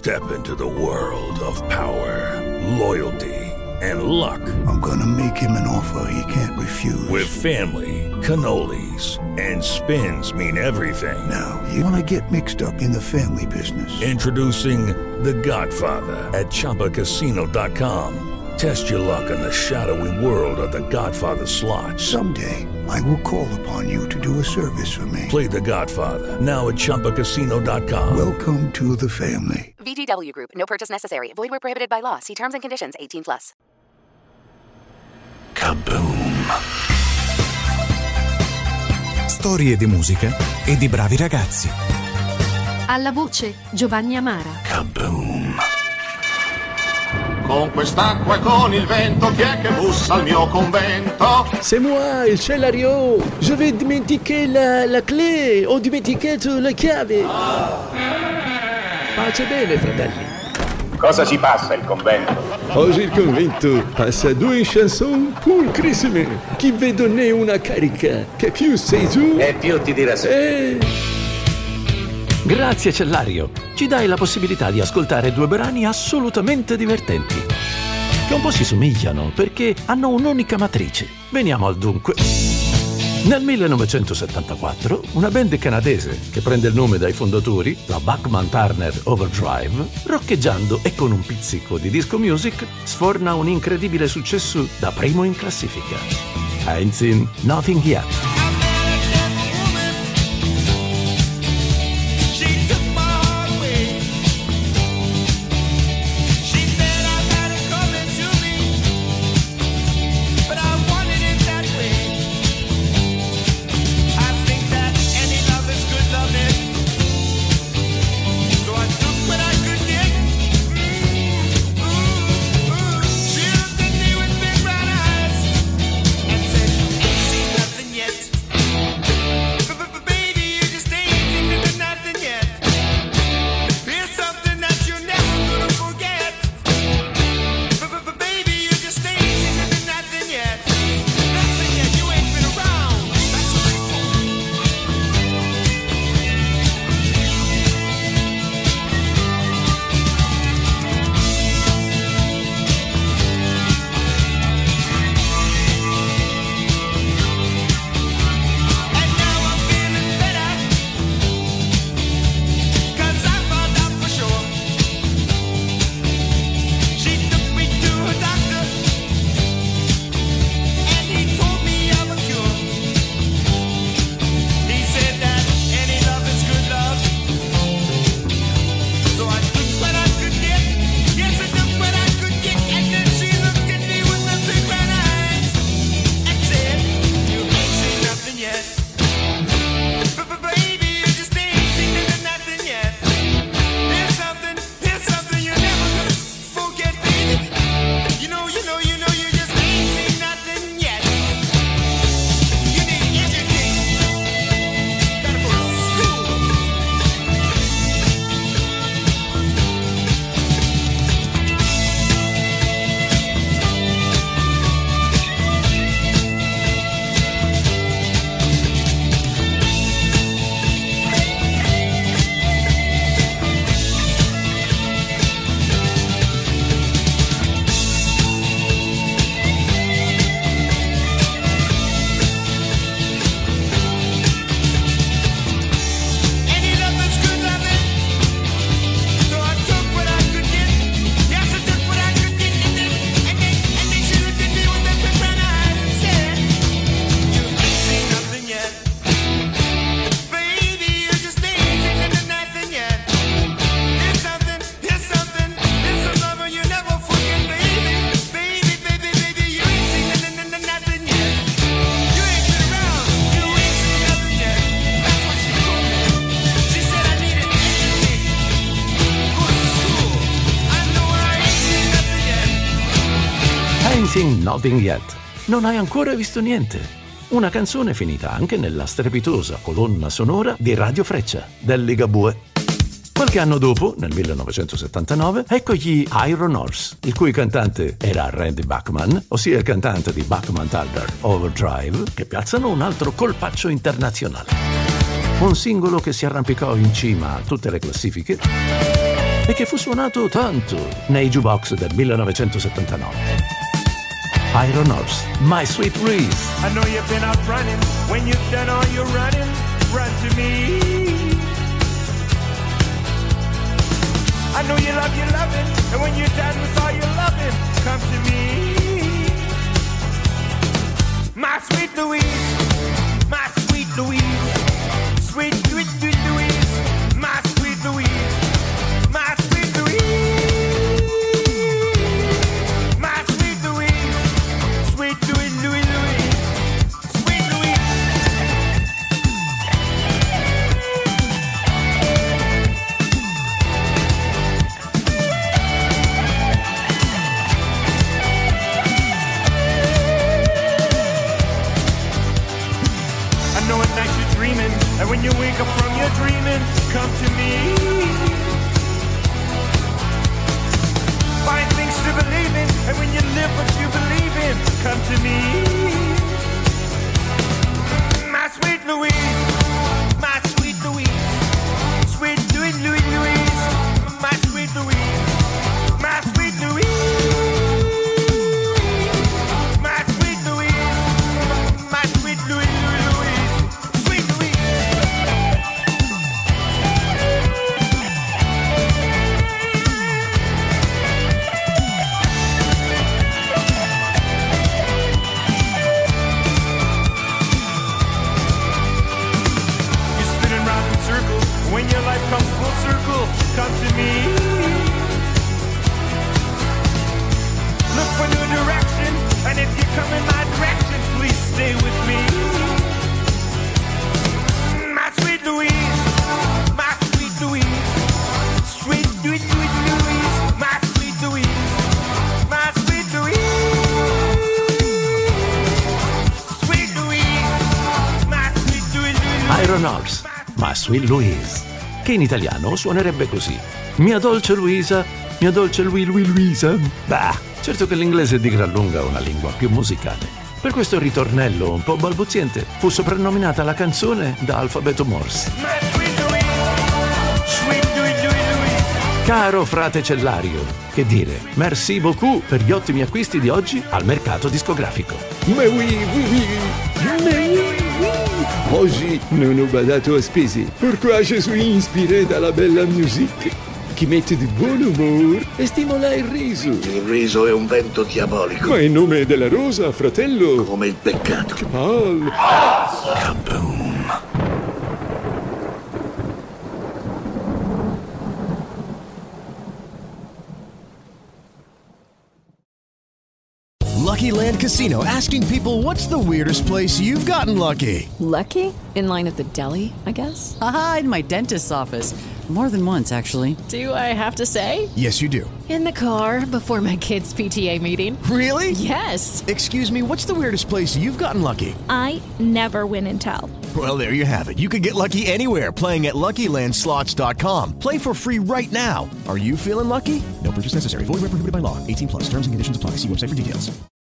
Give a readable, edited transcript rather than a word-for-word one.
Step into the world of power, loyalty, and luck. I'm gonna make him an offer he can't refuse. With family, cannolis, and spins mean everything. Now, you wanna get mixed up in the family business. Introducing The Godfather at ChumbaCasino.com. Test your luck in the shadowy world of The Godfather slot. Someday, I will call upon you to do a service for me. Play The Godfather, now at ChumbaCasino.com. Welcome to the family. VGW Group. No purchase necessary. Void where prohibited by law. See terms and conditions. 18+. Kaboom. Storie di musica e di bravi ragazzi. Alla voce Giovanni Amara. Kaboom. Con quest'acqua e con il vento, chi è che bussa al mio convento? C'est moi, il Celario. Je vais dimentiquer la clé. Ho dimenticato la chiave. Pace bene, fratelli. Cosa ci passa il convento? Oggi il convento passa 2 chanson pulcrissime qui vi donner una carica che più sei tu E più ti dirà sempre. Grazie Cellario, ci dai la possibilità di ascoltare 2 brani assolutamente divertenti, che un po' si somigliano perché hanno un'unica matrice. Veniamo al dunque. Nel 1974, una band canadese che prende il nome dai fondatori, la Bachman Turner Overdrive, roccheggiando e con un pizzico di disco music, sforna un incredibile successo da primo in classifica. Ain't Seen Nothing Yet. Nothing Yet. Non hai ancora visto niente. Una canzone finita anche nella strepitosa colonna sonora di Radio Freccia del Ligabue. Qualche anno dopo, nel 1979, ecco gli Iron Horse, il cui cantante era Randy Bachman, ossia il cantante di Bachman Turner Overdrive, che piazzano un altro colpaccio internazionale. Un singolo che si arrampicò in cima a tutte le classifiche e che fu suonato tanto nei jukebox del 1979. Iron Horse, My Sweet Louise. I know you've been out running. When you've done all your running, run to me. I know you love your loving, and when you're done with all your loving, come to me. My sweet Louise, my sweet Louise, sweet, sweet, sweet Louise, my sweet Louise, my sweet Louise, my sweet Louise, sweet Louise, Louise, Louise, sweet Louise. I know at night you're dreaming, and when you wake up from your dreaming, come to me. Find things to believe in, and when you live what you believe in, come to me. My sweet Louise, my sweet Louise, sweet Louise, Louise, Louise, my sweet Louise, my sweet Louise, my sweet Louise, my sweet Louise, Louise, Louise, sweet Louise. You're spinning round in circles. When your life comes full circle, come to me. Look for new direction, and if you come in my direction, please stay with me. My sweet Louise, my sweet Louise, sweet, sweet, sweet Louise, my sweet Louise, my sweet Louise, sweet Louise, my sweet Louise, Louise. Iron Horse, My Sweet Louise, che in italiano suonerebbe così: Mia dolce Luisa, mia dolce Luisa. Bah, certo che l'inglese è di gran lunga una lingua più musicale. Per questo ritornello un po' balbuziente fu soprannominata la canzone da alfabeto Morse. My sweet Louise, sweet Louise, Louise, Louise. Caro frate Cellario, che dire, merci beaucoup per gli ottimi acquisti di oggi al mercato discografico. Ma oui, oui. Oggi non ho badato a spese. Pourquoi je suis inspiré dalla bella musique che mette di buon umore e stimola il riso. Il riso è un vento diabolico. Ma in nome della rosa, fratello. Come il peccato. Che palle. Kaboom. Lucky Land Casino, asking people, what's the weirdest place you've gotten lucky? Lucky? In line at the deli, I guess? Aha, in my dentist's office. More than once, actually. Do I have to say? Yes, you do. In the car before my kids' PTA meeting. Really? Yes. Excuse me, what's the weirdest place you've gotten lucky? I never win and tell. Well, there you have it. You can get lucky anywhere, playing at LuckyLandSlots.com. Play for free right now. Are you feeling lucky? No purchase necessary. Void where prohibited by law. 18+. Terms and conditions apply. See website for details.